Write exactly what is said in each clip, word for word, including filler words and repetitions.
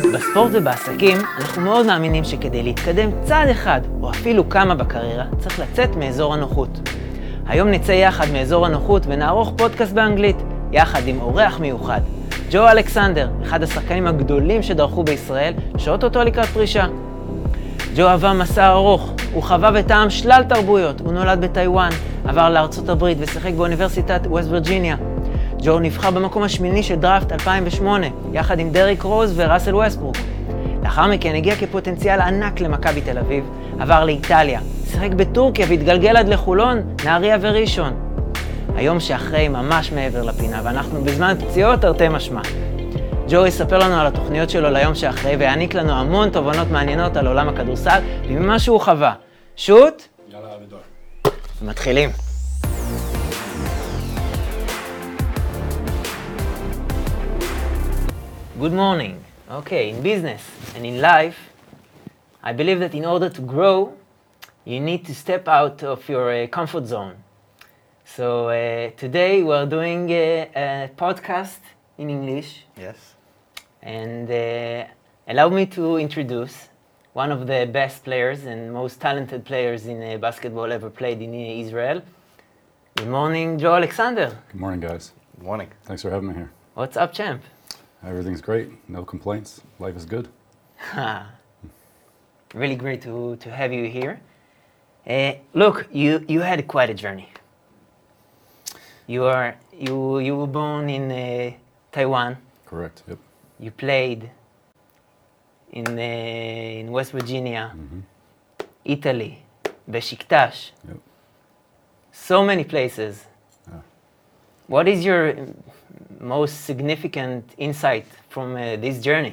בספורט ובעסקים אנחנו מאוד מאמינים שכדי להתקדם צעד אחד או אפילו כמה בקריירה צריך לצאת מאזור הנוחות. היום נצא יחד מאזור הנוחות ונערוך פודקאסט באנגלית יחד עם אורח מיוחד, ג'ו אלכסנדר, אחד השחקנים הגדולים שדרכו בישראל, שאוטוטו לקראת פרישה. ג'ו עבר מסע ארוך, הוא חווה וטעם שלל תרבויות, הוא נולד בטיוואן, עבר לארצות הברית ושיחק באוניברסיטת ווסט וירג'יניה. ג'ו נבחר במקום השמיני של דראפט אלפיים ושמונה, יחד עם דריק רוז וראסל ווסטברוק. לאחר מכן הגיע כפוטנציאל ענק למכבי תל אביב, עבר לאיטליה, שיחק בטורקיה והתגלגל עד לחולון, נהריה וראשון. היום שאחרי ממש מעבר לפינה, ואנחנו בזמן פציעות תרתי משמע. ג'ו יספר לנו על התוכניות שלו ליום שאחרי, ויעניק לנו המון תובנות מעניינות על עולם הכדורסל, וממה שהוא חווה. שוט? יאללה, אבידור. מתחילים. Good morning. Okay, in business and in life, I believe that in order to grow, you need to step out of your uh, comfort zone. So uh, today we are doing a, a podcast in English. Yes. And uh, allow me to introduce one of the best players and most talented players in uh, basketball ever played in uh, Israel. Good morning, Joe Alexander. Good morning, guys. Good morning. Thanks for having me here. What's up, champ? Everything's great. No complaints. Life is good. Really great to, to have you here. Uh, look, you, you had quite a journey. You are you you were born in uh, Taiwan. Correct. Yep. You played in uh, in West Virginia, Mm-hmm. Italy, Besiktas. Yep. So many places. Yeah. What is your most significant insight from uh, this journey?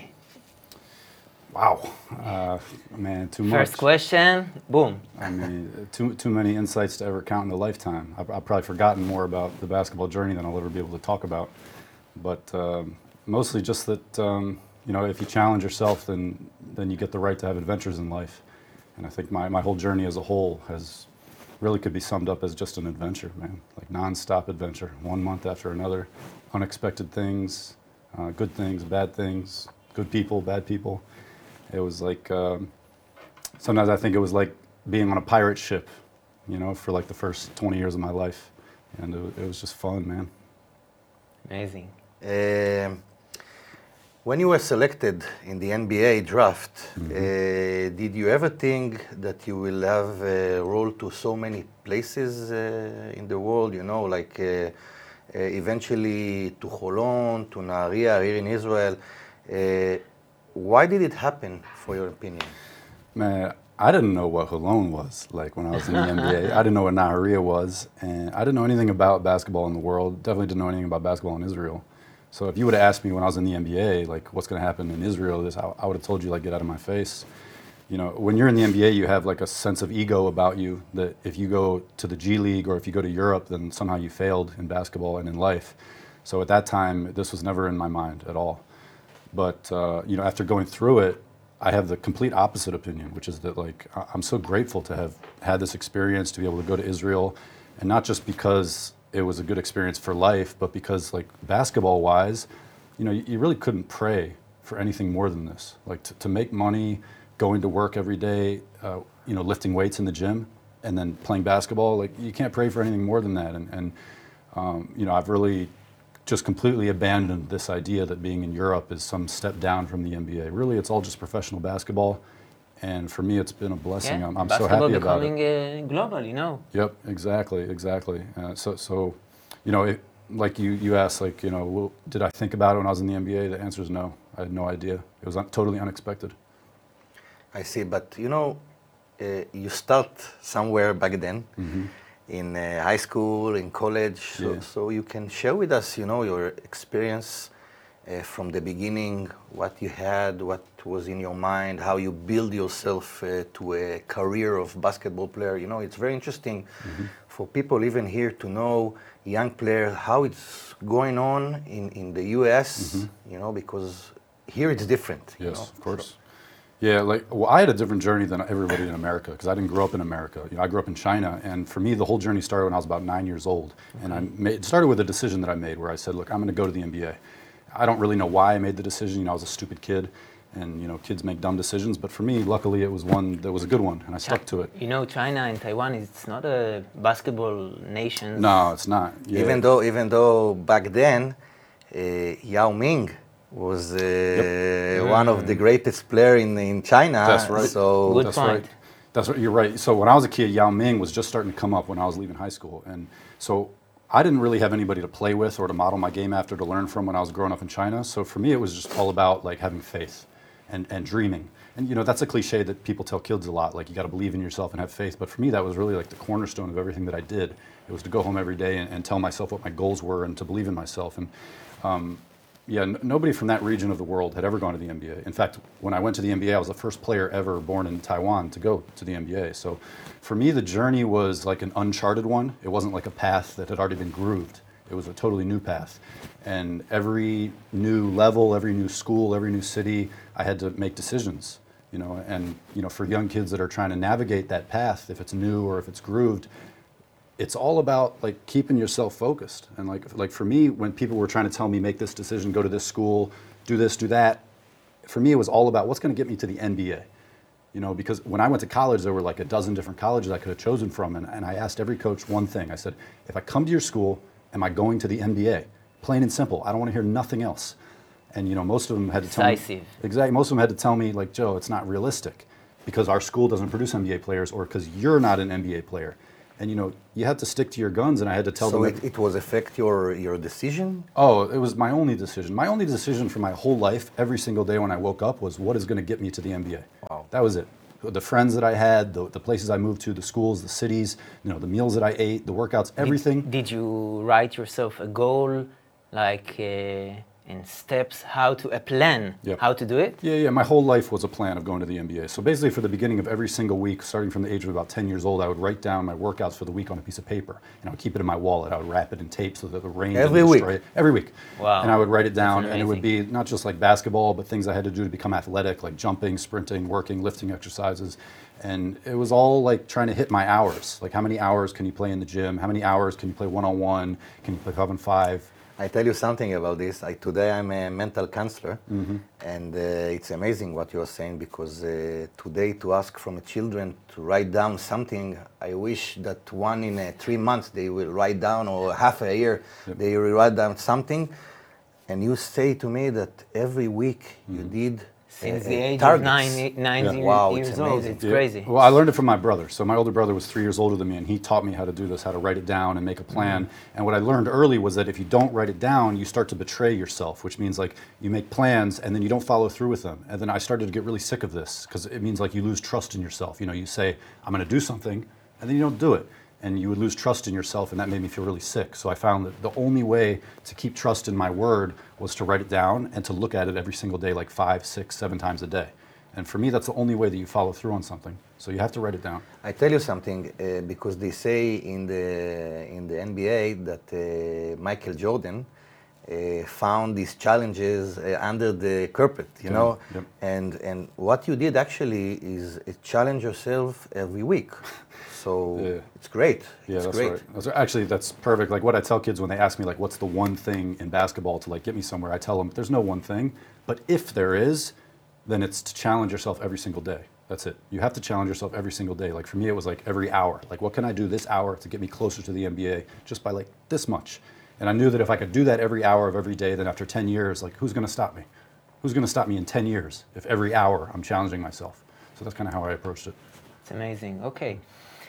Wow. Uh, man, too much. First question, boom. I mean, too too many insights to ever count in a lifetime. I've, I've probably forgotten more about the basketball journey than I'll ever be able to talk about. But um, mostly just that, um, you know, if you challenge yourself, then then you get the right to have adventures in life. And I think my, my whole journey as a whole has really could be summed up as just an adventure, man. Like non-stop adventure, one month after another, unexpected things, uh, good things, bad things, good people, bad people. It was like, um, sometimes I think it was like being on a pirate ship, you know, for like the first twenty years of my life. And it, it was just fun, man. Amazing. Um, when you were selected in the N B A draft, Mm-hmm. uh, did you ever think that you will have a role to so many places uh, in the world, you know, like uh, uh, eventually to Holon, to Nahariya, here in Israel? Uh, why did it happen, for your opinion? Man, I didn't know what Holon was like when I was in the N B A. I didn't know what Nahariya was, and I didn't know anything about basketball in the world. Definitely didn't know anything about basketball in Israel. So if you would have asked me when I was in the N B A, like what's going to happen in Israel, this I, I would have told you like get out of my face. You know, when you're in the N B A, you have like a sense of ego about you that if you go to the G League or if you go to Europe, then somehow you failed in basketball and in life. So at that time, this was never in my mind at all. But uh, you know, after going through it, I have the complete opposite opinion, which is that like I- I'm so grateful to have had this experience, to be able to go to Israel, and not just because it was a good experience for life, but because like basketball-wise, you know, you, you really couldn't pray for anything more than this. Like to, to make money, going to work every day, uh, you know, lifting weights in the gym, and then playing basketball, like you can't pray for anything more than that. And, and um, you know, I've really just completely abandoned this idea that being in Europe is some step down from the N B A. Really, it's all just professional basketball. And for me, it's been a blessing. Yeah, I'm, I'm so basketball happy about becoming it. uh, global, you know. Yep, exactly, exactly. Uh, so, so, you know, it, like you, you asked, like, you know, well, did I think about it when I was in the N B A? The answer is no. I had no idea. It was un- totally unexpected. I see, but you know, uh, you start somewhere back then, Mm-hmm. in uh, high school, in college, so, Yeah. so you can share with us, you know, your experience uh, from the beginning, what you had, what was in your mind, how you build yourself uh, to a career of basketball player. You know, it's very interesting Mm-hmm. for people even here to know young player how it's going on in, in the U S, Mm-hmm. you know, because here it's different. You Yes, know? of course. Yeah, like, well, I had a different journey than everybody in America because I didn't grow up in America. You know, I grew up in China, and for me, the whole journey started when I was about nine years old. And I made, it started with a decision that I made where I said, look, I'm going to go to the N B A. I don't really know why I made the decision. You know, I was a stupid kid. and you know, kids make dumb decisions. But for me, luckily, it was one that was a good one, and I stuck to it. You know, China and Taiwan, it's not a basketball nation. No, it's not. Yeah. Even though, even though back then, uh, Yao Ming was uh, Yep. one of the greatest player in in China. That's right. So Good That's point. right. That's right. You're right. So when I was a kid, Yao Ming was just starting to come up when I was leaving high school, and so I didn't really have anybody to play with or to model my game after, to learn from when I was growing up in China. So for me, it was just all about like having faith and, and dreaming. And you know, that's a cliche that people tell kids a lot, like you got to believe in yourself and have faith. But for me, that was really like the cornerstone of everything that I did. It was to go home every day and, and tell myself what my goals were and to believe in myself. And um, yeah, n- nobody from that region of the world had ever gone to the N B A. In fact, when I went to the N B A, I was the first player ever born in Taiwan to go to the N B A. So for me, the journey was like an uncharted one. It wasn't like a path that had already been grooved. It was a totally new path. And every new level, every new school, every new city, I had to make decisions. You know, and you know, for young kids that are trying to navigate that path, if it's new or if it's grooved, it's all about like keeping yourself focused. And like like for me, when people were trying to tell me make this decision, go to this school, do this, do that, for me it was all about what's going to get me to the N B A. You know, because when I went to college, there were like a dozen different colleges I could have chosen from, and, and I asked every coach one thing. I said, if I come to your school, am I going to the N B A? Plain and simple. I don't want to hear nothing else. And you know, most of them had to tell Decisive. me exactly. Most of them had to tell me like, Joe, it's not realistic, because our school doesn't produce N B A players, or because you're not an N B A player. And you know, you have to stick to your guns. And I had to tell so them. it, it was affect your your decision. Oh, it was my only decision. My only decision for my whole life, every single day when I woke up, was what is going to get me to the N B A. Wow. That was it. The friends that I had, the, the places I moved to, the schools, the cities, you know, the meals that I ate, the workouts, everything. Did, did you write yourself a goal, like uh, in steps, how to a plan, Yep. how to do it? Yeah, yeah. My whole life was a plan of going to the N B A. So basically, for the beginning of every single week, starting from the age of about ten years old, I would write down my workouts for the week on a piece of paper, and I would keep it in my wallet. I would wrap it in tape so that the rain Every didn't week? destroy it. Every week. Wow. And I would write it down, That's and it would be not just like basketball, but things I had to do to become athletic, like jumping, sprinting, working, lifting exercises. And it was all like trying to hit my hours. Like, how many hours can you play in the gym? How many hours can you play one-on-one? Can you play five on five? I tell you something about this. I, today I'm a mental counselor, Mm-hmm. and uh, it's amazing what you're saying, because uh, today to ask from children to write down something, I wish that one in uh, three months they will write down, or half a year Yep. they will write down something, and you say to me that every week you Mm-hmm. did Since uh, the age targets. of nine, nine Yeah. year- Wow, it's years old, amazing. it's Yeah. crazy. Well, I learned it from my brother. So my older brother was three years older than me, and he taught me how to do this, how to write it down and make a plan. Mm-hmm. And what I learned early was that if you don't write it down, you start to betray yourself, which means like you make plans and then you don't follow through with them. And then I started to get really sick of this, because it means like you lose trust in yourself. You know, you say, I'm going to do something, and then you don't do it. And you would lose trust in yourself, and that made me feel really sick. So I found that the only way to keep trust in my word was to write it down and to look at it every single day, like five, six, seven times a day. And for me, that's the only way that you follow through on something. So you have to write it down. I tell you something, uh, because they say in the in the N B A that uh, Michael Jordan uh, found these challenges uh, under the carpet, you Yeah, know, yep. and and what you did actually is uh, challenge yourself every week. So Yeah. it's great. Yeah, it's that's great. right. That's, actually, that's perfect. Like what I tell kids when they ask me, like, what's the one thing in basketball to like get me somewhere? I tell them, there's no one thing, but if there is, then it's to challenge yourself every single day. That's it. You have to challenge yourself every single day. Like for me, it was like every hour. Like, what can I do this hour to get me closer to the N B A just by like this much? And I knew that if I could do that every hour of every day, then after ten years, like who's going to stop me? Who's going to stop me in ten years if every hour I'm challenging myself? So that's kind of how I approached it. It's amazing. Okay.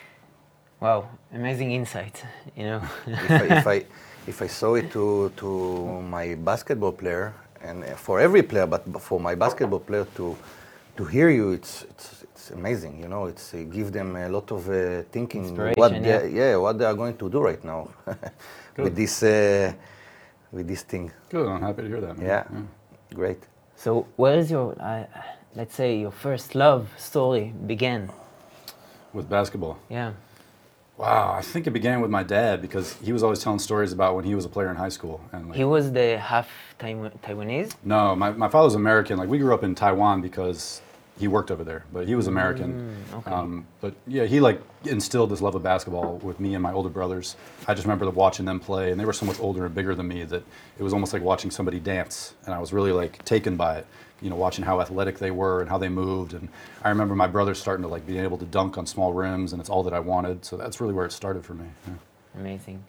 Wow, amazing insight, you know. if, I, if I if I saw it to to my basketball player, and for every player, but for my basketball player to to hear you, it's it's, it's amazing. You know, it's uh, give them a lot of uh, thinking Inspiration, what yeah. they, yeah what they are going to do right now with this uh, with this thing. Good. I'm happy to hear that, man. Yeah, great. So where is your, uh, let's say, your first love story began? With basketball. Yeah. Wow, I think it began with my dad, because he was always telling stories about when he was a player in high school. And like, He was the half Taiwan- Taiwanese? no, my, my father's American. Like we grew up in Taiwan because he worked over there, but he was American. Mm, okay. Um, but yeah, he like instilled this love of basketball with me and my older brothers. I just remember watching them play, and they were so much older and bigger than me that it was almost like watching somebody dance, and I was really like taken by it. You know, watching how athletic they were and how they moved, and I remember my brothers starting to like being able to dunk on small rims, and it's all that I wanted. So that's really where it started for me. Yeah. Amazing.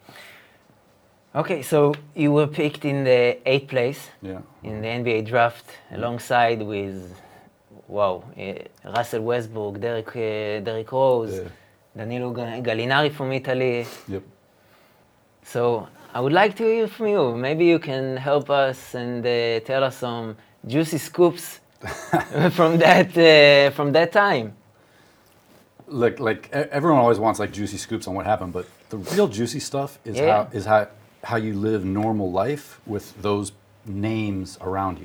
Okay, so you were picked in the eighth place Yeah. in the N B A draft alongside with, wow, uh, Russell Westbrook, Derrick, uh, Derrick Rose, Yeah. Danilo Ga- Gallinari from Italy. Yep. So I would like to hear from you. Maybe you can help us and uh, tell us some juicy scoops from that uh, from that time. Like, like e- everyone always wants like juicy scoops on what happened, but the real juicy stuff is Yeah. how is how how you live normal life with those names around you.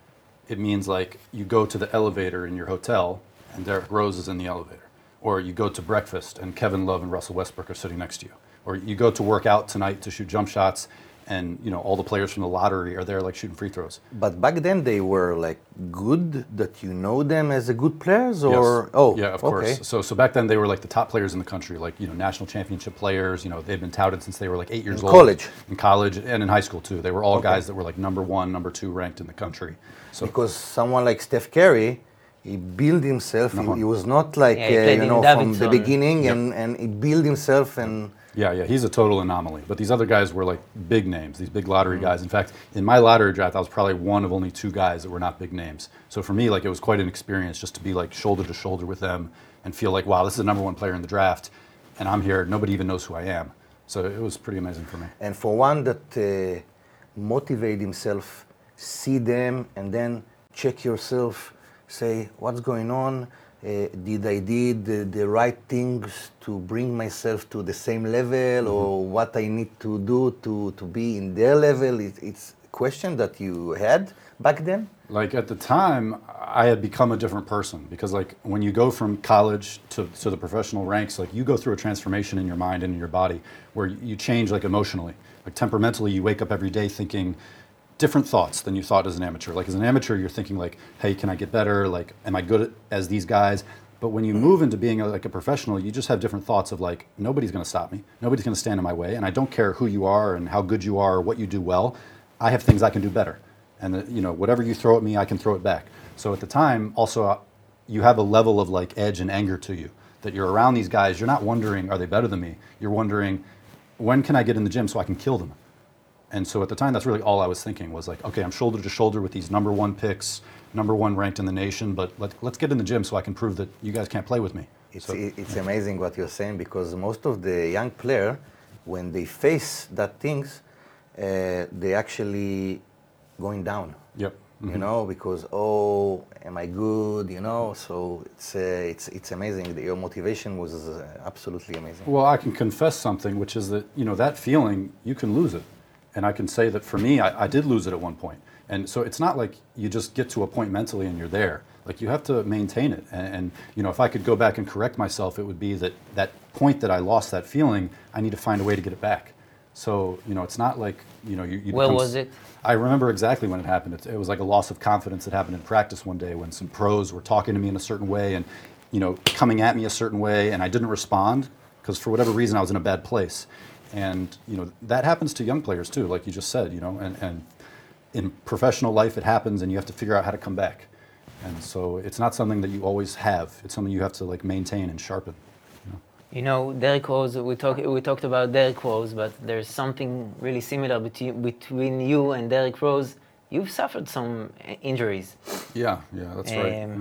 It means like you go to the elevator in your hotel and Derrick Rose is in the elevator, or you go to breakfast and Kevin Love and Russell Westbrook are sitting next to you, or you go to work out tonight to shoot jump shots, and you know all the players from the lottery are there like shooting free throws. But back then they were like good, that you know them as a good players, or Yes. oh, yeah, of okay. course. So, so back then they were like the top players in the country, like you know national championship players. You know they've been touted since they were like eight years In old. college. In college and in high school too. They were all Okay. guys that were like number one, number two ranked in the country. So Because someone like Steph Curry, he built himself. He, Uh-huh. he was not like Yeah, he uh, played you in know from the Davidson. beginning, Yep. and and he built himself and. yeah, yeah, he's a total anomaly. But these other guys were like big names, these big lottery Mm-hmm. guys. In fact, in my lottery draft, I was probably one of only two guys that were not big names. So for me, like it was quite an experience just to be like shoulder to shoulder with them and feel like, wow, this is the number one player in the draft, and I'm here. Nobody even knows who I am. So it was pretty amazing for me. And for one that uh, motivate himself, see them, and then check yourself, say what's going on. Uh, did I did the, the right things to bring myself to the same level, or what I need to do to, to be in their level? It, it's a question that you had back then. Like at the time, I had become a different person because like when you go from college to, to the professional ranks, like you go through a transformation in your mind and in your body where you change like emotionally. Like temperamentally, you wake up every day thinking different thoughts than you thought as an amateur. Like as an amateur, you're thinking like, hey, can I get better? Like, am I good as these guys? But when you move into being a, like a professional, you just have different thoughts of like, nobody's going to stop me. Nobody's going to stand in my way. And I don't care who you are and how good you are or what you do well. I have things I can do better. And the, you know, whatever you throw at me, I can throw it back. So at the time, also, uh, you have a level of like edge and anger to you that you're around these guys. You're not wondering, are they better than me? You're wondering, when can I get in the gym so I can kill them? And so at the time, that's really all I was thinking was like, okay, I'm shoulder to shoulder with these number one picks, number one ranked in the nation, but let, let's get in the gym so I can prove that you guys can't play with me. It's, So- it- it's amazing what you're saying, because most of the young player, when they face that things, uh, they actually going down. Yep. You Mhm. know, because oh, am I good? You know, so it's uh, it's it's amazing. Your motivation was uh, absolutely amazing. Well, I can confess something, which is that, you know, that feeling, you can lose it. And I can say that for me, I, I did lose it at one point. And so it's not like you just get to a point mentally and you're there. Like you have to maintain it. And, and you know, if I could go back and correct myself, it would be that that point that I lost that feeling, I need to find a way to get it back. So, you know, it's not like, you know, you, you Where become was s- it? I remember exactly when it happened. It, it was like a loss of confidence that happened in practice one day when some pros were talking to me in a certain way and, you know, coming at me a certain way, and I didn't respond because for whatever reason I was in a bad place. And, you know, that happens to young players too, like you just said, you know, and, and in professional life it happens and you have to figure out how to come back. And so it's not something that you always have. It's something you have to like maintain and sharpen. You know? You know, Derrick Rose, we, talk, we talked about Derrick Rose, but there's something really similar between, between you and Derrick Rose. You've suffered some uh, injuries. Yeah, yeah, that's right. Um, Yeah.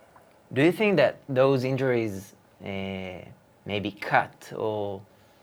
Do you think that those injuries uh, maybe cut or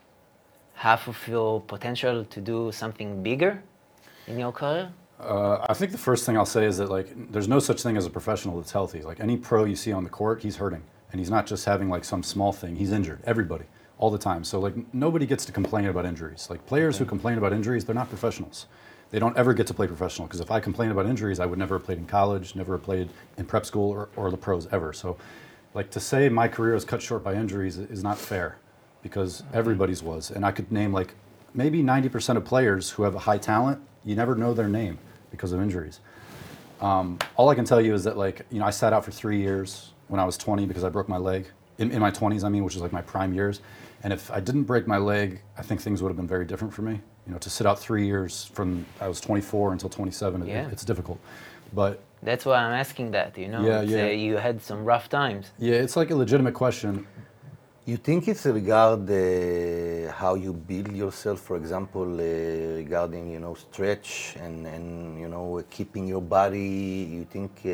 half of your potential to do something bigger in your career? Uh, I think the first thing I'll say is that like there's no such thing as a professional that's healthy. Like any pro you see on the court, he's hurting, and he's not just having like some small thing. He's injured. Everybody, all the time. So like n- nobody gets to complain about injuries. Like players who complain about injuries, they're not professionals. They don't ever get to play professional because if I complain about injuries, I would never have played in college, never have played in prep school or, or the pros ever. So, like to say my career is cut short by injuries is not fair because everybody's was, and I could name like maybe ninety percent of players who have a high talent. You never know their name because of injuries. Um, all I can tell you is that, like, you know, I sat out for three years when I was twenty because I broke my leg. In, in my twenties, I mean, which is like my prime years. And if I didn't break my leg, I think things would have been very different for me. You know, to sit out three years from I was twenty-four until twenty-seven, Yeah. it, it's difficult. But That's why I'm asking that, you know. Yeah, It's, yeah. Uh, you had some rough times. yeah, it's like a legitimate question. You think it's regard uh, how you build yourself, for example, uh, regarding, you know, stretch and, and you know, keeping your body. You think uh,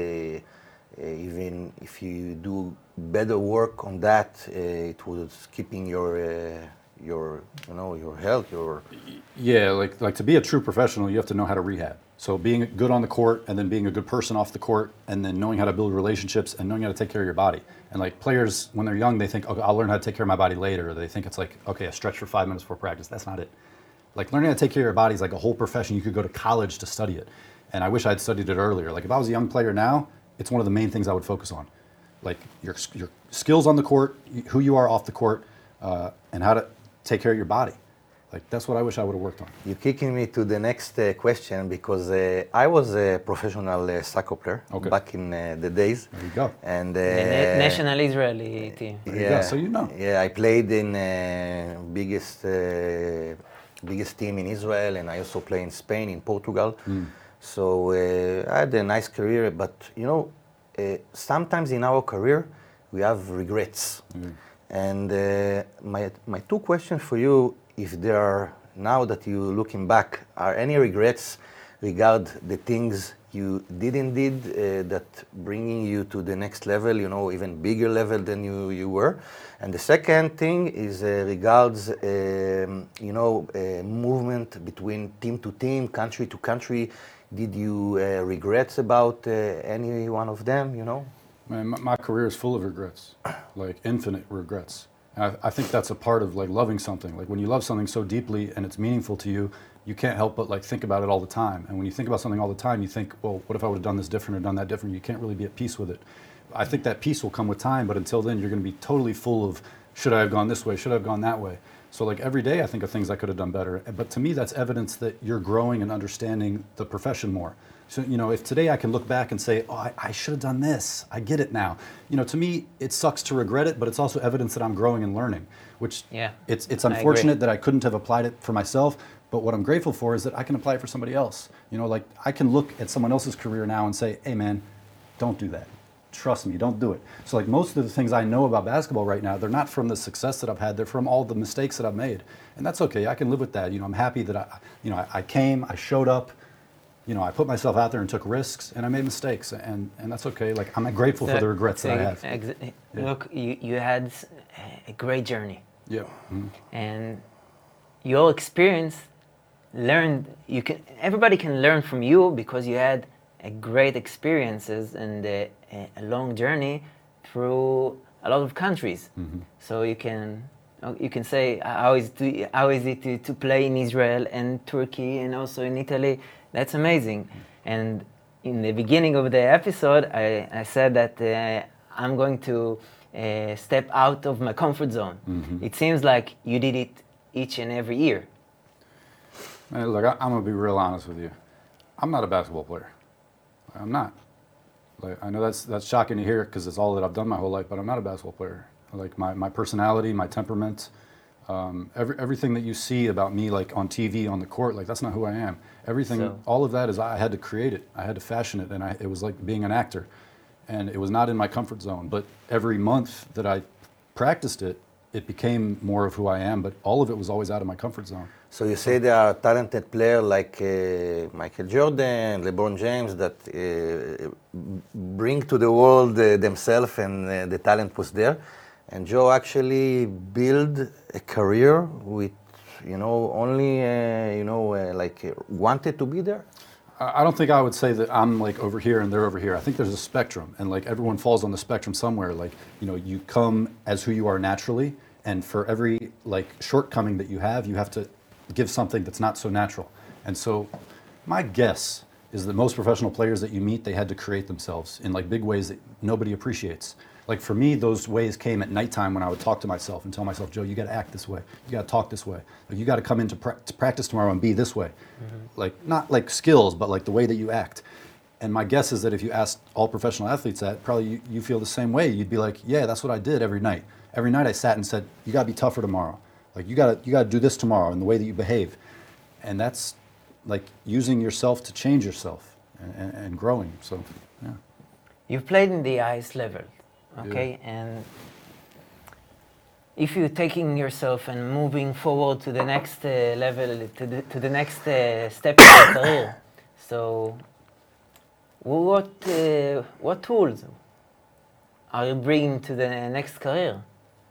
uh, even if you do better work on that, uh, it was keeping your, uh, your, you know, your health, your... Yeah, like like to be a true professional, you have to know how to rehab. So being good on the court, and then being a good person off the court, and then knowing how to build relationships, and knowing how to take care of your body. And like players, when they're young, they think, okay, I'll learn how to take care of my body later. Or they think it's like, okay, a stretch for five minutes before practice. That's not it. Like learning how to take care of your body is like a whole profession. You could go to college to study it. And I wish I'd studied it earlier. Like if I was a young player now, it's one of the main things I would focus on. Like your, your skills on the court, who you are off the court, uh, and how to take care of your body. Like that's what I wish I would have worked on. You're kicking me to the next uh, question because uh, I was a professional uh, soccer player Okay. back in uh, the days. There you go. And uh, The na- national Israeli team. There you go. So you know. Yeah, I played in uh, biggest uh, biggest team in Israel, and I also play in Spain, in Portugal. Mm. So uh, I had a nice career, but you know, uh, sometimes in our career we have regrets. Mm. And uh, my my two questions for you, if there are, now that you're looking back, are any regrets regard the things you didn't did uh, that bringing you to the next level, you know, even bigger level than you, you were? And the second thing is uh, regards, um, you know, uh, movement between team to team, country to country. Did you uh, regrets about uh, any one of them, you know? Man, my, my career is full of regrets, like infinite regrets. And I, I think that's a part of like loving something. Like when you love something so deeply and it's meaningful to you, you can't help but like think about it all the time. And when you think about something all the time, you think, well, what if I would have done this different or done that different? You can't really be at peace with it. I think that peace will come with time, but until then, you're going to be totally full of, should I have gone this way? Should I have gone that way? So like every day, I think of things I could have done better. But to me, that's evidence that you're growing and understanding the profession more. So, you know, if today I can look back and say, oh, I, I should have done this. I get it now. You know, to me, it sucks to regret it, but it's also evidence that I'm growing and learning, which Yeah, it's, it's I agree. unfortunate that I couldn't have applied it for myself. But what I'm grateful for is that I can apply it for somebody else. You know, like I can look at someone else's career now and say, hey, man, don't do that. Trust me, don't do it. So like most of the things I know about basketball right now, they're not from the success that I've had, they're from all the mistakes that I've made. And that's okay, I can live with that. You know, I'm happy that I, you know, I, I came, I showed up, you know, I put myself out there and took risks and I made mistakes and, and that's okay. Like I'm grateful for the regrets that I have. Ex- Yeah. Look, you, you had a great journey. Yeah. Mhm. And your experience learned, you can, everybody can learn from you because you had a great experiences and a, a long journey through a lot of countries. Mm-hmm. So you can you can say how is it, how is it to, to play in Israel and Turkey and also in Italy. That's amazing. And in the beginning of the episode, I, I said that uh, I'm going to uh, step out of my comfort zone. Mm-hmm. It seems like you did it each and every year. Man, look, I, I'm gonna be real honest with you. I'm not a basketball player. I'm not. Like, I know that's that's shocking to hear because it's all that I've done my whole life, but I'm not a basketball player. Like my, my personality, my temperament, um, every, everything that you see about me, like on T V, on the court, like that's not who I am. Everything, So- all of that is I had to create it. I had to fashion it, and I, it was like being an actor, and it was not in my comfort zone. But every month that I practiced it, it became more of who I am. But all of it was always out of my comfort zone. So you say there are talented players like uh, Michael Jordan, LeBron James that uh, bring to the world uh, themselves and uh, the talent was there. And Joe actually built a career with, you know, only, uh, you know, uh, like uh, wanted to be there. I I don't think I would say that I'm like over here and they're over here. I think there's a spectrum, and like everyone falls on the spectrum somewhere. Like, you know, you come as who you are naturally, and for every like shortcoming that you have, you have to give something that's not so natural. And so my guess is that most professional players that you meet, they had to create themselves in like big ways that nobody appreciates. Like for me, those ways came at nighttime when I would talk to myself and tell myself, Joe, you got to act this way. You got to talk this way. Like you got to come into pra- to practice tomorrow and be this way. Mm-hmm. Like not like skills, but like the way that you act. And my guess is that if you asked all professional athletes that, probably you, you feel the same way. You'd be like, yeah, that's what I did every night. Every night I sat and said, you gotta be tougher tomorrow. Like you gotta, you gotta do this tomorrow in the way that you behave. And that's like using yourself to change yourself and, and, and growing, so yeah. You've played in the highest level, okay? Yeah. And if you're taking yourself and moving forward to the next uh, level, to the, to the next uh, step in your career, so what, uh, what tools are you bringing to the next career?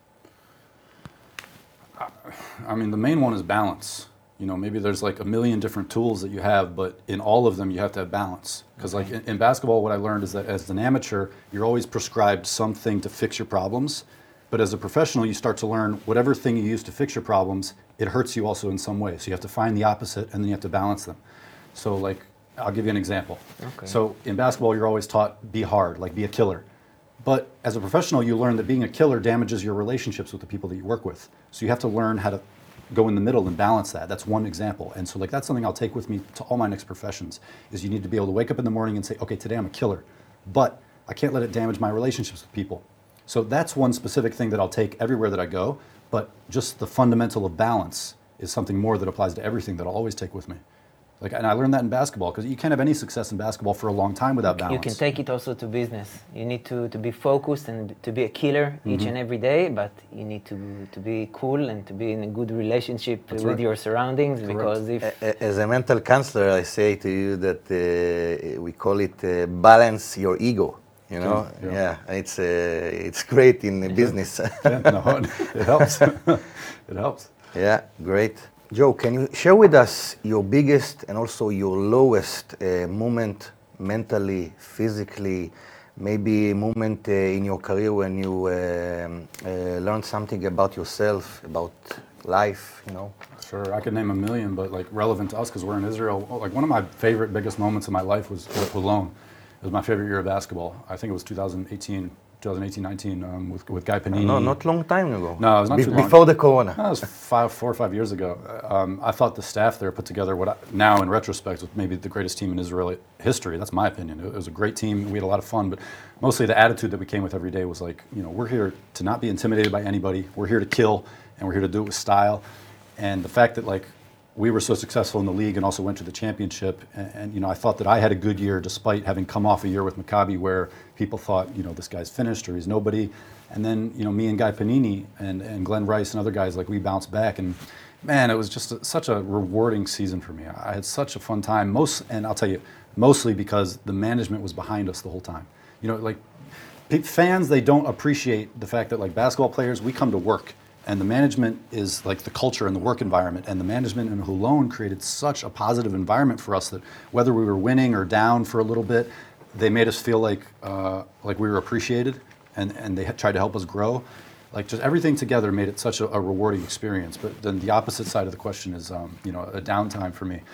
I mean, the main one is balance. You know, maybe there's like a million different tools that you have, but in all of them you have to have balance. Because Okay. like in, in basketball, what I learned is that as an amateur, you're always prescribed something to fix your problems. But as a professional, you start to learn whatever thing you use to fix your problems, it hurts you also in some way. So you have to find the opposite and then you have to balance them. So like, I'll give you an example. Okay. So in basketball, you're always taught be hard, like be a killer. But as a professional, you learn that being a killer damages your relationships with the people that you work with. So you have to learn how to go in the middle and balance that. That's one example. And so like that's something I'll take with me to all my next professions, is you need to be able to wake up in the morning and say, okay, today I'm a killer, but I can't let it damage my relationships with people. So that's one specific thing that I'll take everywhere that I go, but just the fundamental of balance is something more that applies to everything that I'll always take with me. Like, and I learned that in basketball, because you can't have any success in basketball for a long time without balance. You can take it also to business. You need to, to be focused and to be a killer mm-hmm. each and every day, but you need to, to be cool and to be in a good relationship That's with right. your surroundings. Correct. Because if... A- As a mental counselor, I say to you that uh, we call it uh, balance your ego. You know, Yeah, yeah, yeah. it's uh, it's great in business. Yeah, no, it helps. It helps. Yeah, great. Joe, can you share with us your biggest and also your lowest uh, moment mentally, physically, maybe a moment uh, in your career when you um, uh, learned something about yourself, about life, you know? Sure, I could name a million, but like relevant to us because we're in Israel. Like one of my favorite, biggest moments in my life was with Holon. It was my favorite year of basketball. I think it was twenty eighteen, twenty eighteen nineteen um, with, with Guy Panini. No, not long time ago. No, it was not Be- too long. Before the corona. That was five, four or five years ago. Um, I thought the staff there put together what I, now in retrospect was maybe the greatest team in Israeli history. That's my opinion. It was a great team. We had a lot of fun, but mostly the attitude that we came with every day was like, you know, we're here to not be intimidated by anybody. We're here to kill, and we're here to do it with style. And the fact that like we were so successful in the league and also went to the championship, and, and you know, I thought that I had a good year despite having come off a year with Maccabi where people thought, you know, this guy's finished or he's nobody. And then, you know, me and Guy Panini and, and Glenn Rice and other guys, like we bounced back, and man, it was just a, such a rewarding season for me. I had such a fun time, most, and I'll tell you, mostly because the management was behind us the whole time. You know, like pe- fans, they don't appreciate the fact that like basketball players, we come to work. And the management is like the culture and the work environment. And the management in Holon created such a positive environment for us that whether we were winning or down for a little bit, they made us feel like uh, like we were appreciated, and, and they had tried to help us grow. Like just everything together made it such a, a rewarding experience. But then the opposite side of the question is, um, you know, a downtime for me.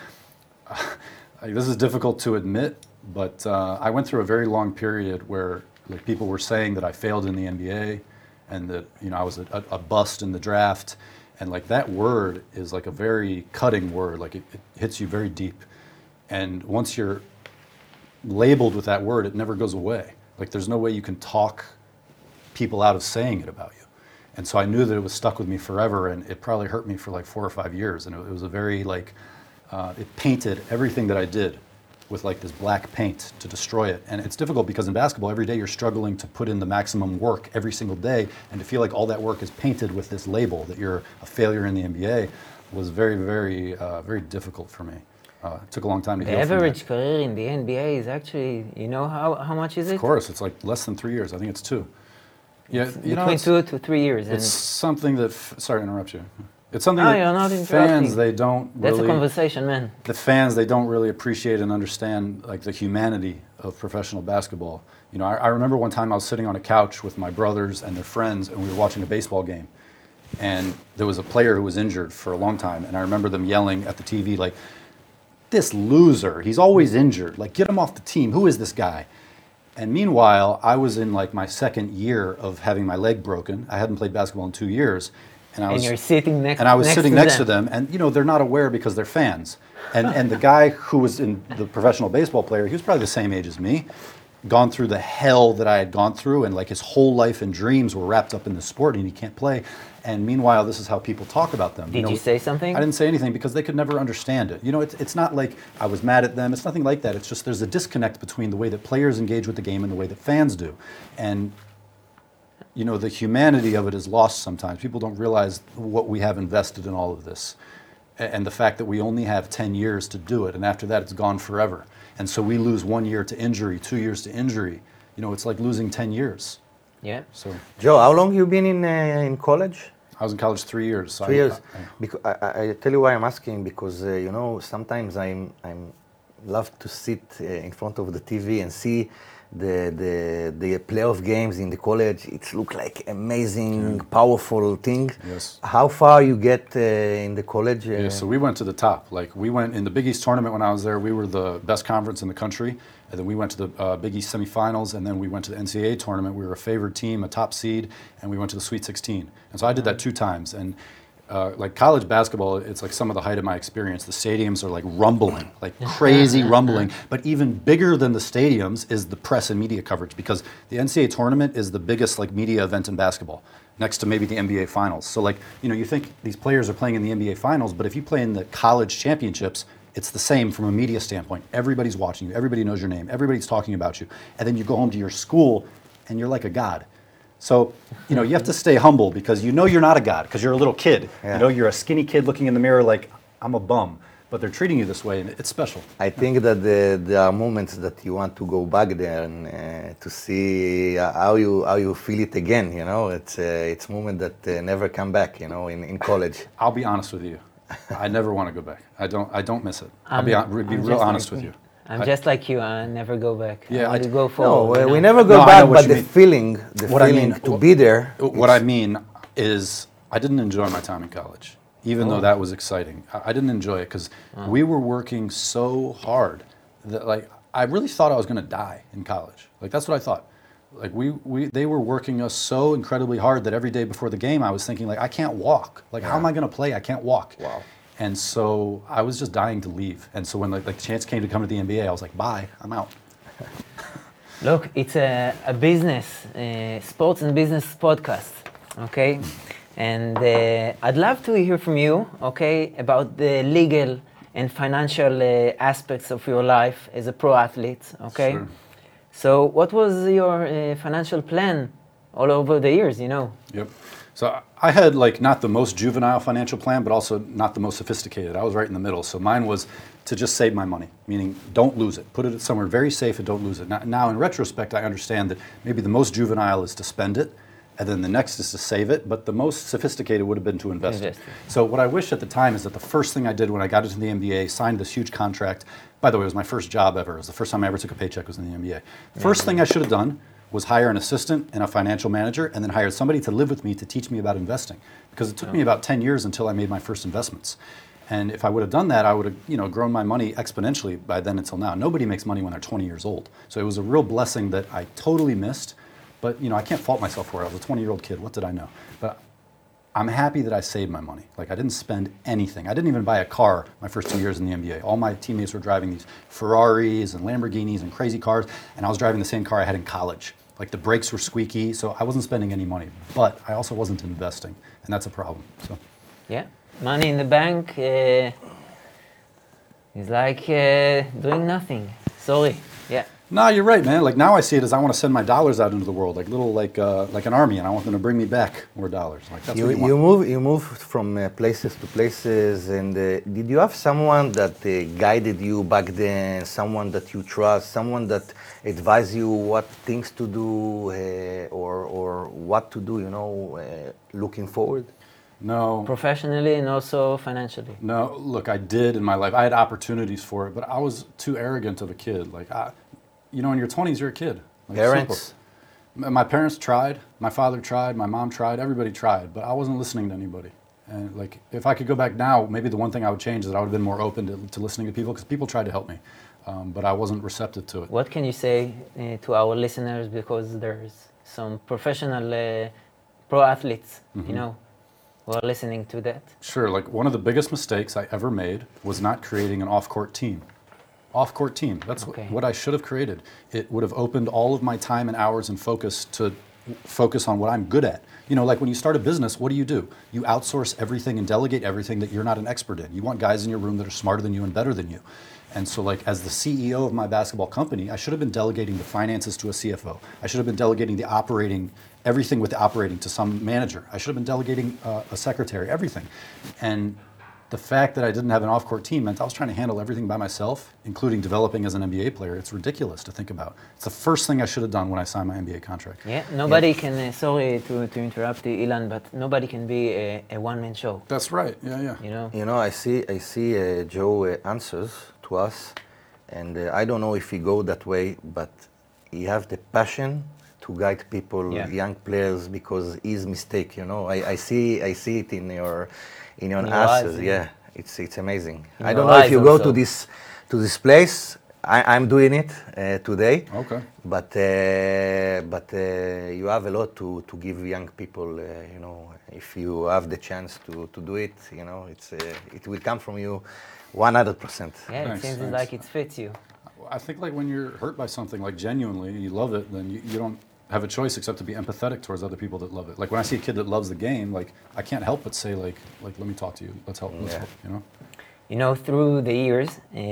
Like, this is difficult to admit, but uh, I went through a very long period where like people were saying that I failed in the N B A. And that, you know, I was a, a bust in the draft, and like that word is like a very cutting word. Like it, it hits you very deep, and once you're labeled with that word, it never goes away. Like there's no way you can talk people out of saying it about you. And so I knew that it was stuck with me forever, and it probably hurt me for like four or five years. And it, it was a very like, uh, it painted everything that I did with like this black paint to destroy it. And it's difficult because in basketball, every day you're struggling to put in the maximum work every single day, and to feel like all that work is painted with this label that you're a failure in the N B A was very, very, uh, very difficult for me. Uh, it took a long time to The heal from average that. career in the N B A is actually, you know how, how much is it? Of course, it's like less than three years. I think it's two. Yeah, It's you know, between it's, two to three years. it's And something that, f- sorry to interrupt you. It's something No, that you're not fans, interrupting. they don't that's really, a conversation, man. the fans, they don't really appreciate and understand like the humanity of professional basketball. You know, I, I remember one time I was sitting on a couch with my brothers and their friends, and we were watching a baseball game. And there was a player who was injured for a long time, and I remember them yelling at the T V like, "This loser, he's always injured. Like, get him off the team. Who is this guy?" And meanwhile, I was in like my second year of having my leg broken. I hadn't played basketball in two years. And, I and was, you're sitting next. and I was next sitting to next them. to them, and you know they're not aware because they're fans. And and the guy who was in the professional baseball player, he was probably the same age as me, gone through the hell that I had gone through, and like his whole life and dreams were wrapped up in the sport, and he can't play. And meanwhile, this is how people talk about them. Did you, know, you say something? I didn't say anything because they could never understand it. You know, it's it's not like I was mad at them. It's nothing like that. It's just there's a disconnect between the way that players engage with the game and the way that fans do, and you know, the humanity of it is lost sometimes. People don't realize what we have invested in all of this, and the fact that we only have ten years to do it, and after that it's gone forever. And so we lose one year to injury, two years to injury. You know, it's like losing ten years. Yeah. So Joe, how long you been in uh, in college? I was in college three years. So Three I, years. I, Because I, I, I tell you why I'm asking, because uh, you know, sometimes I'm I'm love to sit uh, in front of the T V and see the the the playoff games in the college. It look like amazing, powerful thing. Yes. How far you get uh, in the college? Uh, Yeah, so we went to the top. Like we went in the Big East tournament when I was there. We were the best conference in the country, and then we went to the uh, Big East semifinals, and then we went to the N C double A tournament. We were a favored team, a top seed, and we went to the Sweet sixteen. And so I did that two times. And uh, like college basketball, it's like some of the height of my experience. The stadiums are like rumbling, like crazy rumbling. But even bigger than the stadiums is the press and media coverage, because the N C double A tournament is the biggest like media event in basketball, next to maybe the N B A finals. So like, you know, you think these players are playing in the N B A finals, but if you play in the college championships, it's the same from a media standpoint. Everybody's watching you, everybody knows your name, everybody's talking about you. And then you go home to your school and you're like a god. So, you know, you have to stay humble because you know you're not a god because you're a little kid. Yeah. You know, you're a skinny kid looking in the mirror like, I'm a bum. But they're treating you this way and it's special. I think that the, there are moments that you want to go back there and uh, to see uh, how you how you feel it again. You know, it's uh, it's moment that uh, never come back. You know, in, in college. I'll be honest with you. I never want to go back. I don't. I don't miss it. I'll I'm- be, hon- be I'm real just honest like with you. you. I'm I- just like you. I never go back. Yeah, I I want to d- go for. No, you we, we know. never go No, I back, know what but you the mean. feeling, the What I feeling mean- to be there. What it's- I mean is, I didn't enjoy my time in college, even though that was exciting. I, I didn't enjoy it because we were working so hard that, like, I really thought I was going to die in college. Like, that's what I thought. Like, we, we, they were working us so incredibly hard that every day before the game, I was thinking, like, I can't walk. Like, how am I going to play? I can't walk. Wow. And so I was just dying to leave. And so when like, like the chance came to come to the N B A, I was like, bye, I'm out. Look, it's a, a business, uh, sports and business podcast, okay? And uh, I'd love to hear from you, okay, about the legal and financial uh, aspects of your life as a pro athlete, okay? Sure. So what was your uh, financial plan all over the years, you know? Yep. So I- I had like not the most juvenile financial plan, but also not the most sophisticated. I was right in the middle. So mine was to just save my money, meaning don't lose it. Put it somewhere very safe and don't lose it. Now, now in retrospect, I understand that maybe the most juvenile is to spend it, and then the next is to save it, but the most sophisticated would have been to invest Invest it. it. So what I wish at the time is that the first thing I did when I got into the N B A, signed this huge contract. By the way, it was my first job ever. It was the first time I ever took a paycheck was in the N B A. First thing I should have done was hire an assistant and a financial manager, and then hired somebody to live with me to teach me about investing. Because it took me about ten years until I made my first investments. And if I would have done that, I would have, you know, grown my money exponentially by then until now. Nobody makes money when they're twenty years old. So it was a real blessing that I totally missed. But, you know, I can't fault myself for it. I was a twenty-year-old kid. What did I know? But I'm happy that I saved my money. Like, I didn't spend anything. I didn't even buy a car my first two years in the N B A. All my teammates were driving these Ferraris and Lamborghinis and crazy cars, and I was driving the same car I had in college. Like, the brakes were squeaky, so I wasn't spending any money. But I also wasn't investing, and that's a problem. So, Yeah, money in the bank uh, is like uh, doing nothing. Sorry. Yeah. no, you're right, man. Like, now I see it as I want to send my dollars out into the world, like little, like, uh, like an army, and I want them to bring me back more dollars. Like, that's You, what you want. you move you move from uh, places to places, and uh, did you have someone that uh, guided you back then? Someone that you trust, someone that advised you what things to do uh, or or what to do? You know, uh, looking forward. No. Professionally and also financially. No, look, I did in my life. I had opportunities for it, but I was too arrogant of a kid. Like, I, you know, in your twenties, you're a kid. Like, Parents. simple. M- My parents tried. My father tried. My mom tried. Everybody tried, but I wasn't listening to anybody. And like, if I could go back now, maybe the one thing I would change is that I would have been more open to, to listening to people, because people tried to help me, um, but I wasn't receptive to it. What can you say uh, to our listeners, because there's some professional uh, pro athletes, you know? who are listening to that? Sure, like one of the biggest mistakes I ever made was not creating an off-court team. Off-court team, that's Okay. what, what I should have created. It would have opened all of my time and hours and focus to focus on what I'm good at. You know, like when you start a business, what do you do? You outsource everything and delegate everything that you're not an expert in. You want guys in your room that are smarter than you and better than you. And so like as the C E O of my basketball company, I should have been delegating the finances to a C F O. I should have been delegating the operating, everything with the operating to some manager. I should have been delegating uh, a secretary, everything. And the fact that I didn't have an off-court team meant I was trying to handle everything by myself, including developing as an N B A player. It's ridiculous to think about. It's the first thing I should have done when I signed my N B A contract. Yeah, nobody can, uh, sorry to, to interrupt you, Ilan, but nobody can be a, a one-man show, That's right, yeah, yeah. you know? You know, I see, I see uh, Joe uh, answers to us, and uh, I don't know if he go that way, but he have the passion to guide people, Yeah. young players, because his mistake. You know, I, I see, I see it in your, in your In your answers. eyes, yeah. yeah. it's it's amazing. In I your don't know if eyes you go also. to this, to this place. I, I'm doing it uh, today. Okay. But uh, but uh, you have a lot to, to give young people. Uh, you know, if you have the chance to, to do it, you know, it's uh, it will come from you, one hundred percent. Yeah, it Thanks, seems thanks. like it fits you. I think like when you're hurt by something, like genuinely, you love it, then you, you don't have a choice except to be empathetic towards other people that love it. Like when I see a kid that loves the game, like I can't help but say like, like let me talk to you, let's help, let's Yeah. help, you know? You know, through the years,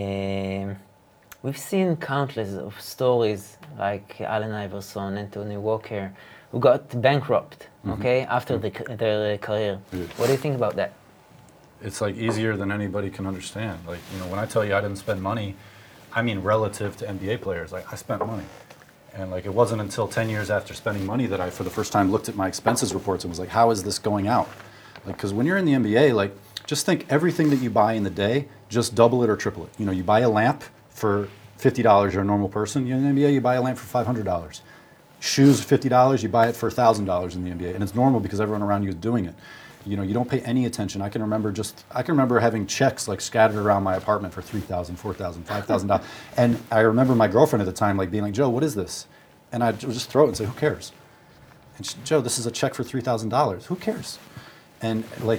um, we've seen countless of stories like Allen Iverson, Anthony Walker, who got bankrupt, okay, after the, c- their career. Yeah. What do you think about that? It's like easier than anybody can understand. Like, you know, when I tell you I didn't spend money, I mean relative to N B A players, like I spent money. And like it wasn't until ten years after spending money that I for the first time looked at my expenses reports and was like, how is this going out? Like, because when you're in the N B A, like just think everything that you buy in the day, just double it or triple it. You know, you buy a lamp for fifty dollars, you're a normal person. You're in the N B A, you buy a lamp for five hundred dollars. Shoes, fifty dollars, you buy it for one thousand dollars in the N B A. And it's normal because everyone around you is doing it. You know, you don't pay any attention. I can remember just, I can remember having checks like scattered around my apartment for three thousand dollars, four thousand dollars, five thousand dollars. And I remember my girlfriend at the time like being like, Joe, what is this? And I'd just throw it and say, who cares? And she, Joe, this is a check for three thousand dollars. Who cares? And like,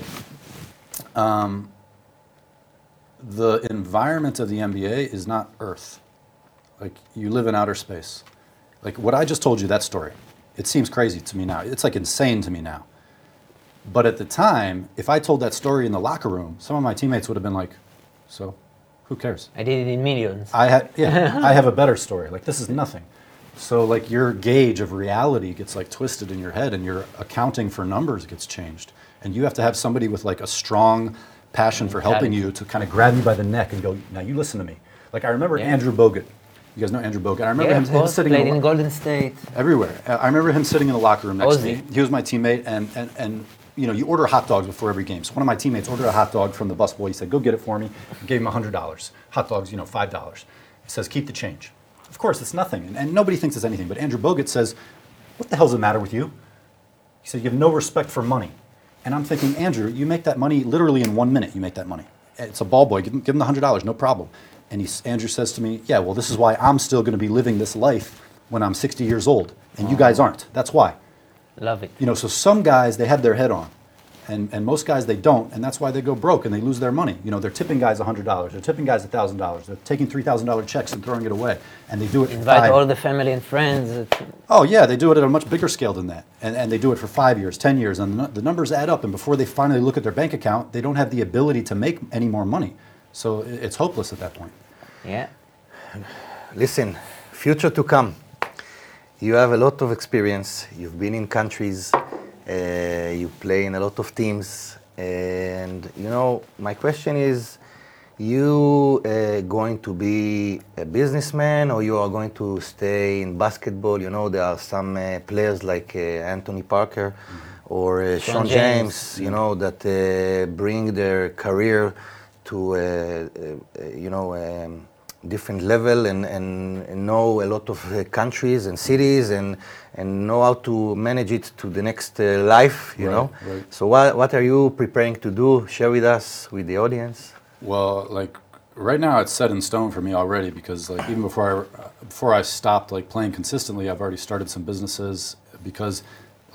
um, the environment of the N B A is not Earth. Like, you live in outer space. Like, what I just told you, that story, it seems crazy to me now. It's like insane to me now. But at the time, if I told that story in the locker room, some of my teammates would have been like, so, who cares? I did it in millions. I had, yeah, I have a better story. Like, this is nothing. So, like, your gauge of reality gets, like, twisted in your head, and your accounting for numbers gets changed. And you have to have somebody with, like, a strong passion for helping you to kind of grab you by the neck and go, now you listen to me. Like, I remember Yeah. Andrew Bogut. You guys know Andrew Bogut. I remember Yeah, him, of him course, sitting played in, in the, Golden State. everywhere. Uh, I remember him sitting in the locker room next to me. Ozzy. He was my teammate, and, and, and you know, you order hot dogs before every game. So one of my teammates ordered a hot dog from the busboy. He said, go get it for me. I gave him one hundred dollars. Hot dogs, you know, five dollars. He says, keep the change. Of course, it's nothing, and, and nobody thinks it's anything. But Andrew Bogut says, what the hell's the matter with you? He said, you have no respect for money. And I'm thinking, Andrew, you make that money literally in one minute. You make that money. It's a ball boy. Give him, give him the one hundred dollars, no problem. And he, Andrew says to me, yeah, well, this is why I'm still going to be living this life when I'm sixty years old, and you guys aren't. That's why. Love it. You know, so some guys, they have their head on, and, and most guys, they don't, and that's why they go broke and they lose their money. You know, they're tipping guys one hundred dollars, they're tipping guys one thousand dollars, they're taking three thousand dollars checks and throwing it away, and they do it for Invite five. all the family and friends. It- Oh, yeah, they do it at a much bigger scale than that, and, and they do it for five years, ten years, and the, nu- the numbers add up, and before they finally look at their bank account, they don't have the ability to make any more money. So i- it's hopeless at that point. Yeah. Listen, future to come. You have a lot of experience. You've been in countries. Uh, you play in a lot of teams. And, you know, my question is, you uh, going to be a businessman, or you are going to stay in basketball? You know, there are some uh, players like uh, Anthony Parker or uh, Sean Sean James. James, you know, that uh, bring their career to, uh, uh, you know, um, different level, and, and, and know a lot of uh, countries and cities, and, and know how to manage it to the next uh, life, you Right, know. right. So what, what are you preparing to do? Share with us, with the audience. Well, like right now, it's set in stone for me already, because like even before I before I stopped like playing consistently, I've already started some businesses, because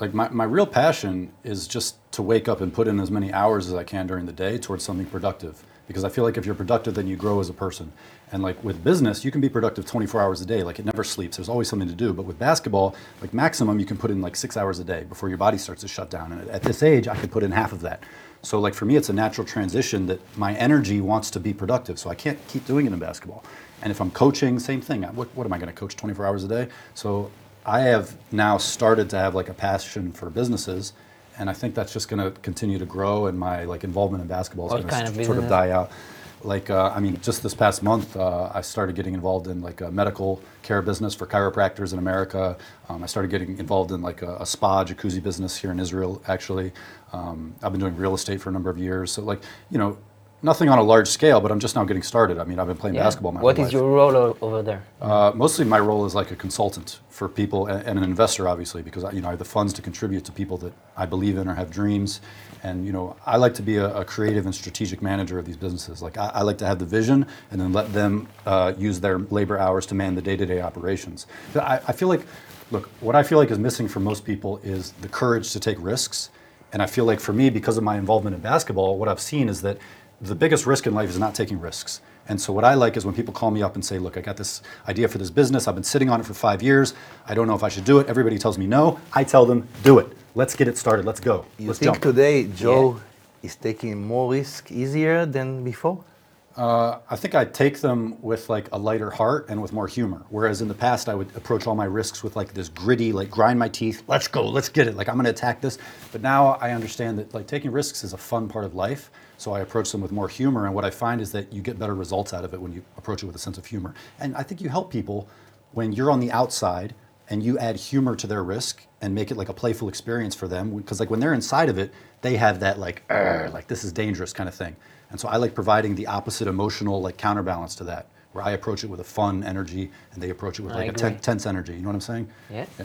like my, my real passion is just to wake up and put in as many hours as I can during the day towards something productive. Because I feel like if you're productive, then you grow as a person. And like with business, you can be productive twenty-four hours a day. Like it never sleeps. There's always something to do. But with basketball, like maximum, you can put in like six hours a day before your body starts to shut down. And at this age, I could put in half of that. So like for me, it's a natural transition that my energy wants to be productive. So I can't keep doing it in basketball. And if I'm coaching, same thing. What, what am I going to coach twenty-four hours a day? So I have now started to have like a passion for businesses, and I think that's just going to continue to grow, and my like involvement in basketball is What going kind to of s- sort of business? die out. Like, uh, I mean, just this past month, uh, I started getting involved in like a medical care business for chiropractors in America. Um, I started getting involved in like a, a spa jacuzzi business here in Israel, actually. Um, I've been doing real estate for a number of years. So like, you know, nothing on a large scale, but I'm just now getting started. I mean, I've been playing Yeah. basketball my What whole is life. your role o- over there? Uh, mostly my role is like a consultant for people and, and an investor, obviously, because I, you know, I have the funds to contribute to people that I believe in or have dreams. And you know, I like to be a, a creative and strategic manager of these businesses. Like I, I like to have the vision and then let them uh, use their labor hours to man the day-to-day operations. I, I feel like, look, what I feel like is missing for most people is the courage to take risks. And I feel like for me, because of my involvement in basketball, what I've seen is that the biggest risk in life is not taking risks. And so what I like is when people call me up and say, look, I got this idea for this business. I've been sitting on it for five years. I don't know if I should do it. Everybody tells me no. I tell them, do it. Let's get it started. Let's go. You Let's think jump. today Joe is taking more risk easier than before? Uh, I think I take them with like a lighter heart and with more humor. Whereas in the past, I would approach all my risks with like this gritty, like grind my teeth. Let's go. Let's get it. Like I'm going to attack this. But now I understand that like taking risks is a fun part of life. So I approach them with more humor. And what I find is that you get better results out of it when you approach it with a sense of humor. And I think you help people when you're on the outside and you add humor to their risk and make it like a playful experience for them. Because like when they're inside of it, they have that like, "Arr," like this is dangerous kind of thing. And so I like providing the opposite emotional like counterbalance to that, where I approach it with a fun energy and they approach it with I like a agree. ten- tense energy. You know what I'm saying? Yeah. Yeah.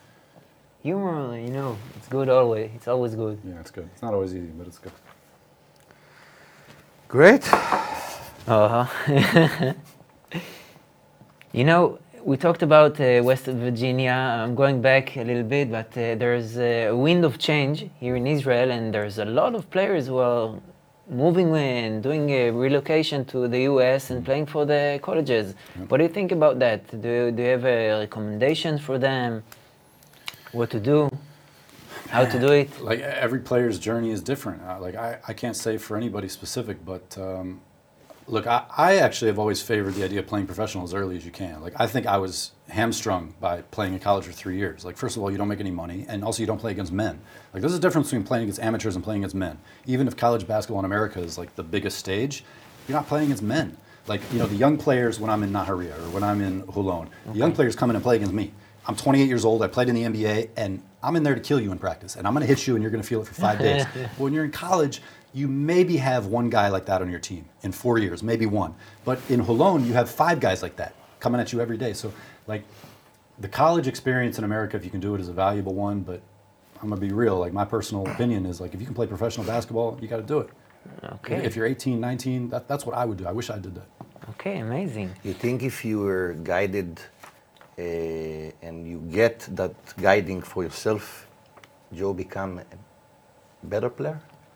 Humor, you know, it's good always. It's always good. Yeah, it's good. It's not always easy, but it's good. Great. Uh-huh. You know, we talked about uh, West Virginia. I'm going back a little bit, but uh, there's a wind of change here in Israel, and there's a lot of players who are moving and doing a relocation to the U S and playing for the colleges. What do you think about that? Do you, do you have a recommendation for them? What to do? How to do it? Like every player's journey is different. Uh, like I, I can't say for anybody specific, but um, look, I, I actually have always favored the idea of playing professional as early as you can. Like I think I was hamstrung by playing in college for three years. Like first of all, you don't make any money, and also you don't play against men. Like there's a difference between playing against amateurs and playing against men. Even if college basketball in America is like the biggest stage, you're not playing against men. Like you know, the young players when I'm in Naharia or when I'm in Holon, the young players come in and play against me. I'm twenty-eight years old. I played in the N B A, and I'm in there to kill you in practice. And I'm going to hit you, and you're going to feel it for five days. But when you're in college, you maybe have one guy like that on your team in four years, maybe one. But in Holon, you have five guys like that coming at you every day. So, like, the college experience in America, if you can do it, is a valuable one. But I'm going to be real. Like, my personal opinion is, like, if you can play professional basketball, you got to do it. Okay. If you're eighteen, nineteen, that, that's what I would do. I wish I did that. Okay, amazing. You think if you were guided uh, and you get that guiding for yourself, Joe become a better player?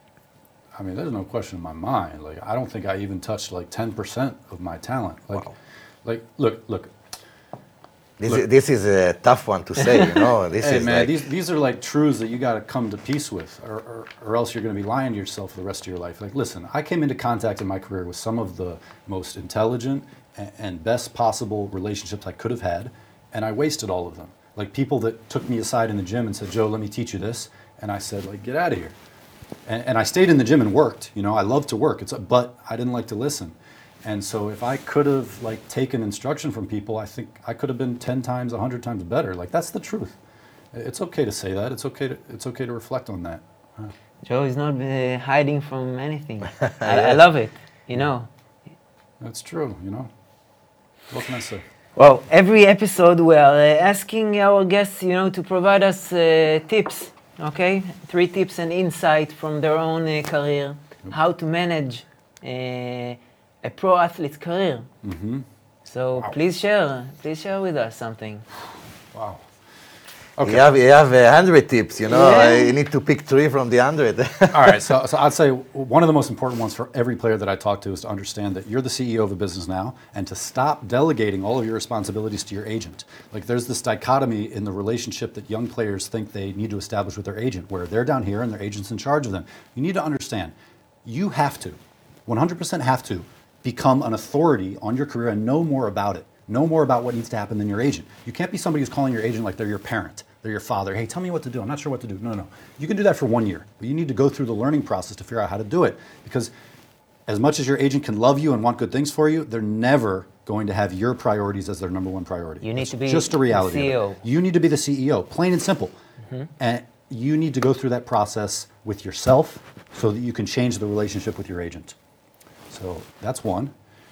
I mean, there's no question in my mind. Like, I don't think I even touched like ten percent of my talent. Like, Wow. like, look, look. This, Look. is, this is a tough one to say, you know. This Hey is man, like, these these are like truths that you got to come to peace with, or, or or else you're going to be lying to yourself for the rest of your life. Like, listen, I came into contact in my career with some of the most intelligent and, and best possible relationships I could have had, and I wasted all of them. Like people that took me aside in the gym and said, "Joe, let me teach you this," and I said, "Like, get out of here." And, and I stayed in the gym and worked. You know, I love to work. It's a, but I didn't like to listen. And so if I could have like taken instruction from people, I think I could have been ten times, a hundred times better. Like that's the truth. It's okay to say that. It's okay to it's okay to reflect on that. Huh. Joe is not uh, hiding from anything. I, I love it, you know. That's true. You know, what can I say? Well, every episode we are uh, asking our guests, you know, to provide us uh, tips, okay? Three tips and insight from their own uh, career, how to manage uh, a pro athlete's career. Mm-hmm. So Wow. please share, please share with us something. Wow. Okay. You have, you have a hundred tips, you know. Yeah. You need to pick three from the hundred. All right, so, so I'd say one of the most important ones for every player that I talk to is to understand that you're the C E O of a business now and to stop delegating all of your responsibilities to your agent. Like there's this dichotomy in the relationship that young players think they need to establish with their agent, where they're down here and their agent's in charge of them. You need to understand, you have to, one hundred percent have to, become an authority on your career and know more about it. Know more about what needs to happen than your agent. You can't be somebody who's calling your agent like they're your parent. They're your father. Hey, tell me what to do. I'm not sure what to do. No, no, no. You can do that for one year, but you need to go through the learning process to figure out how to do it. Because as much as your agent can love you and want good things for you, they're never going to have your priorities as their number one priority. You need It's to be just a reality. the C E O. Of it. You need to be the C E O, plain and simple. Mm-hmm. And you need to go through that process with yourself so that you can change the relationship with your agent. So that's one.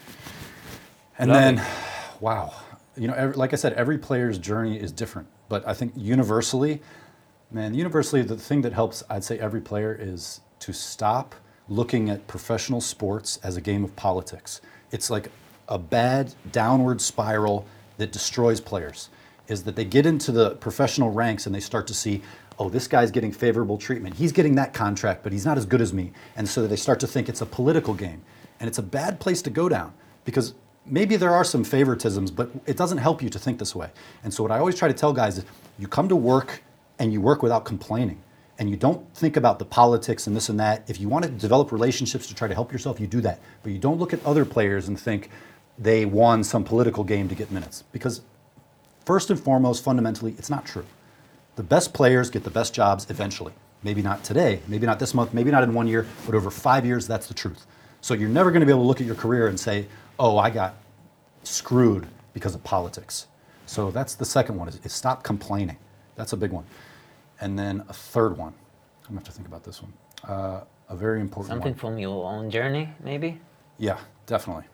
And Love then, it. wow. You know, every, like I said, every player's journey is different. But I think universally, man, universally, the thing that helps, I'd say, every player is to stop looking at professional sports as a game of politics. It's like a bad downward spiral that destroys players, is that they get into the professional ranks and they start to see, oh, this guy's getting favorable treatment. He's getting that contract, but he's not as good as me. And so they start to think it's a political game. And it's a bad place to go down because maybe there are some favoritisms, but it doesn't help you to think this way. And so what I always try to tell guys is you come to work and you work without complaining. And you don't think about the politics and this and that. If you want to develop relationships to try to help yourself, you do that. But you don't look at other players and think they won some political game to get minutes. Because first and foremost, fundamentally, it's not true. The best players get the best jobs eventually. Maybe not today, maybe not this month, maybe not in one year, but over five years, that's the truth. So you're never going to be able to look at your career and say, oh, I got screwed because of politics. So that's the second one, is, is stop complaining. That's a big one. And then a third one, I'm gonna have to think about this one. Uh, a very important Something one. from your own journey, maybe? Yeah, definitely.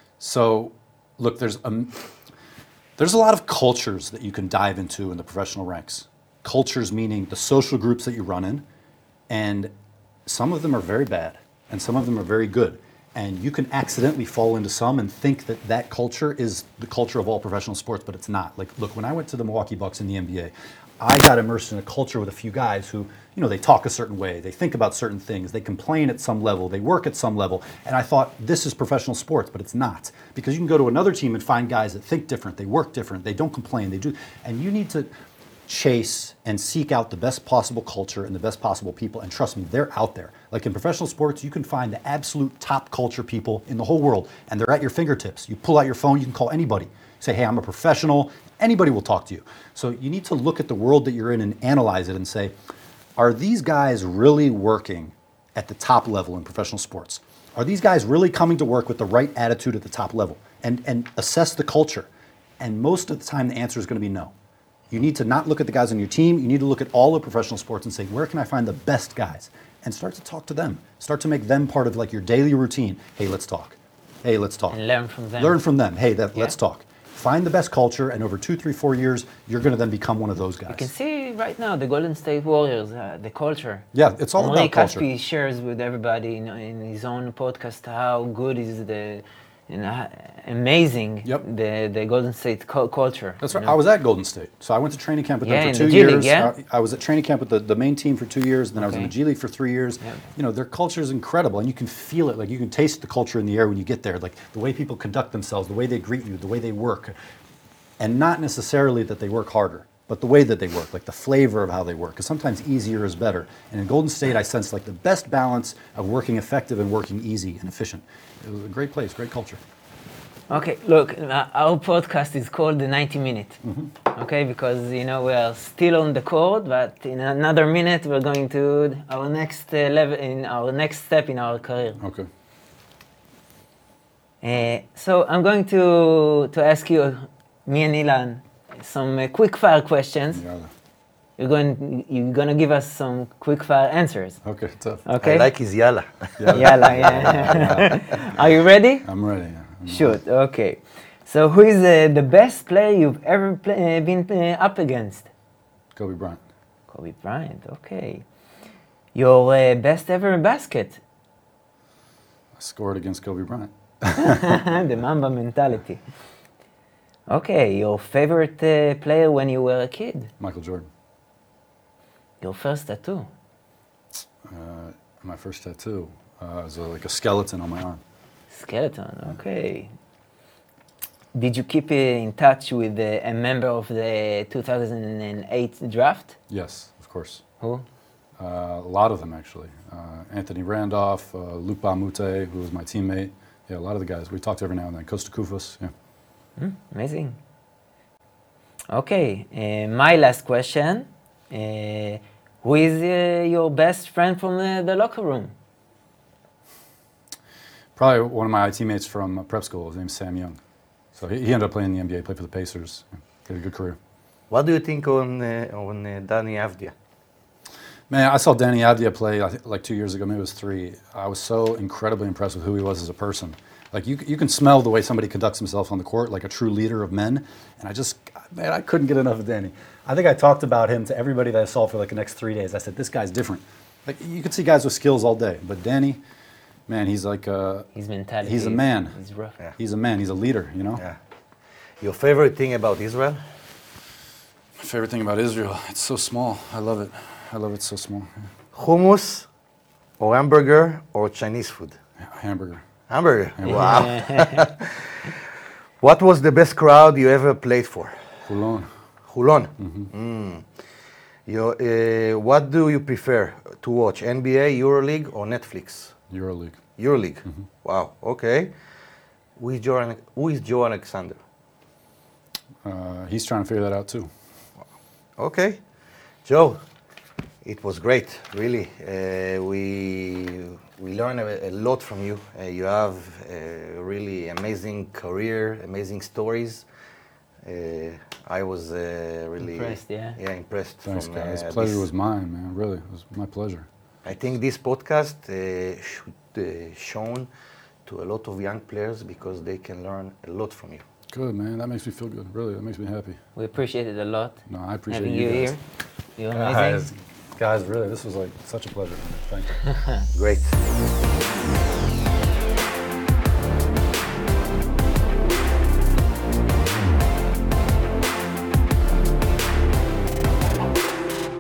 So, look, there's a, there's a lot of cultures that you can dive into in the professional ranks. Cultures meaning the social groups that you run in, and some of them are very bad, and some of them are very good. And you can accidentally fall into some and think that that culture is the culture of all professional sports, but it's not. Like, look, when I went to the Milwaukee Bucks in the N B A, I got immersed in a culture with a few guys who, you know, they talk a certain way, they think about certain things, they complain at some level, they work at some level, and I thought this is professional sports, but it's not. Because you can go to another team and find guys that think different, they work different, they don't complain, they do, and you need to chase and seek out the best possible culture and the best possible people, and trust me, they're out there. Like in professional sports, you can find the absolute top culture people in the whole world, and they're at your fingertips. You pull out your phone, you can call anybody. Say, hey, I'm a professional, anybody will talk to you. So you need to look at the world that you're in and analyze it and say, are these guys really working at the top level in professional sports? Are these guys really coming to work with the right attitude at the top level? And, and assess the culture. And most of the time, the answer is going to be no. You need to not look at the guys on your team. You need to look at all of professional sports and say, where can I find the best guys? And start to talk to them. Start to make them part of like your daily routine. Hey, let's talk. Hey, let's talk. And learn from them. Learn from them. Hey, that, Yeah. let's talk. Find the best culture, and over two, three, four years, you're going to then become one of those guys. You can see right now the Golden State Warriors, uh, the culture. Yeah, it's all Henri about culture. Caspi shares with everybody in, in his own podcast how good is the, you know, amazing Yep. the, the Golden State cu- culture. That's you right. know? I was at Golden State. So I went to training camp with Yeah, them in for the two G League, years. yeah? I, I was at training camp with the, the main team for two years, then I was in the Okay. G League for three years. Yeah. You know, their culture is incredible, and you can feel it. Like, you can taste the culture in the air when you get there. Like, the way people conduct themselves, the way they greet you, the way they work. And not necessarily that they work harder, but the way that they work, like the flavor of how they work. Because sometimes easier is better. And in Golden State, I sensed like the best balance of working effective and working easy and efficient. It was a great place, great culture. Okay, look, uh, our podcast is called the ninety minute. Mm-hmm. Okay, because you know we are still on the court, but in another minute we're going to our next uh, level in our next step in our career. Okay. Uh, so I'm going to to ask you, me and Ilan, some uh, quick fire questions. Yeah. You're going you're gonna give us some quick fire answers. Okay, tough. Okay. I like his yalla. Yalla, yeah. Are you ready? I'm ready. Yeah. I'm Shoot. Okay. So who is uh, the best player you've ever play, uh, been uh, up against? Kobe Bryant. Kobe Bryant. Okay. Your uh, best ever basket? I scored against Kobe Bryant. The Mamba mentality. Okay. Your favorite uh, player when you were a kid? Michael Jordan. Your first tattoo. Uh, my first tattoo uh, was a, like a skeleton on my arm. Skeleton, okay. Did you keep in touch with uh, a member of the two thousand eight draft? Yes, of course. Who? Uh, a lot of them, actually. Uh, Anthony Randolph, uh, Luke Bamute, who was my teammate. Yeah, a lot of the guys. We talked every now and then. Costa Kufos, yeah. Mm, amazing. Okay, uh, my last question. Uh, who is uh, your best friend from the, the locker room? Probably one of my teammates from uh, prep school. His name's Sam Young. So he, he ended up playing in the N B A, played for the Pacers. Yeah, he had a good career. What do you think on uh, on uh, Danny Avdia? Man, I saw Danny Avdia play I think, like two years ago, maybe it was three. I was so incredibly impressed with who he was as a person. Like you, you can smell the way somebody conducts himself on the court, like a true leader of men. And I just, man, I couldn't get enough of Danny. I think I talked about him to everybody that I saw for like the next three days. I said, this guy's different. Like you could see guys with skills all day, but Danny, man, he's like a, His mentality. he's a man. He's rough. Yeah. He's a man. He's a leader, you know? Yeah. Your favorite thing about Israel? My favorite thing about Israel, it's so small. I love it. I love it so small. Yeah. Hummus or hamburger or Chinese food? Yeah, hamburger. Hamburger. Wow. What was the best crowd you ever played for? Hulon. Hulon. Mm. Your, uh, what do you prefer to watch? N B A, EuroLeague, or Netflix? EuroLeague. EuroLeague. Wow. Okay. Who is Joe, who is Joe Alexander? Uh, he's trying to figure that out too. Okay. Joe, it was great, really. Uh, we we learned a, a lot from you. Uh, you have a really amazing career, amazing stories. Uh, I was uh, really Impressed, yeah. yeah impressed. Thanks, from, guys. uh, Pleasure this. was mine, man. Really, it was my pleasure. I think this podcast uh, should uh, shown to a lot of young players because they can learn a lot from you. Good, man. That makes me feel good. Really, that makes me happy. We appreciate it a lot. No, I appreciate having you you guys. here. You're amazing. Guys, guys, really, this was like such a pleasure. Thank you. Great.